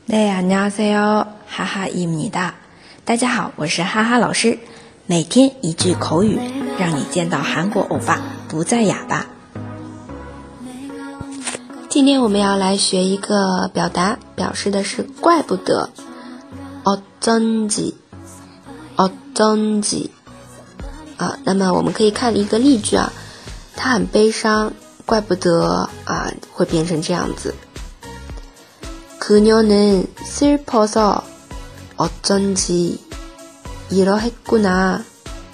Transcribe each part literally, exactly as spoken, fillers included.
네, 안녕하세요. 하하입니다.大家好，我是哈哈老师。每天一句口语，让你见到韩国欧巴不再哑巴。今天我们要来学一个表达，表示的是怪不得。어쩐지，어쩐지啊，那么我们可以看一个例句啊，他很悲伤，怪不得啊，会变成这样子。그녀는 슬퍼서 어쩐지 이러했구나。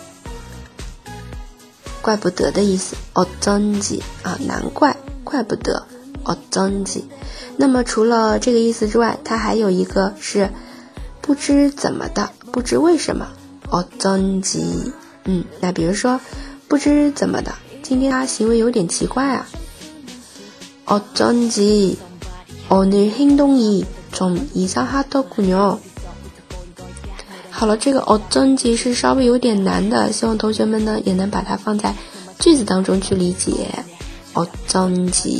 怪不得的意思，어쩐지啊，难怪，怪不得，어쩐지。那么除了这个意思之外，它还有一个是不知怎么的，不知为什么，어쩐지。嗯，那比如说不知怎么的，今天他行为有点奇怪啊，어쩐지 오늘 행동이 좀 이상하더군요。好了，这个어쩐지是稍微有点难的，希望同学们呢也能把它放在句子当中去理解。어쩐지，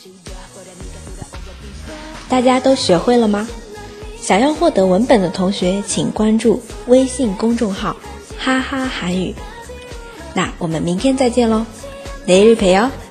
大家都学会了吗？想要获得文本的同学，请关注微信公众号哈哈韩语。那我们明天再见喽，내일 봬요。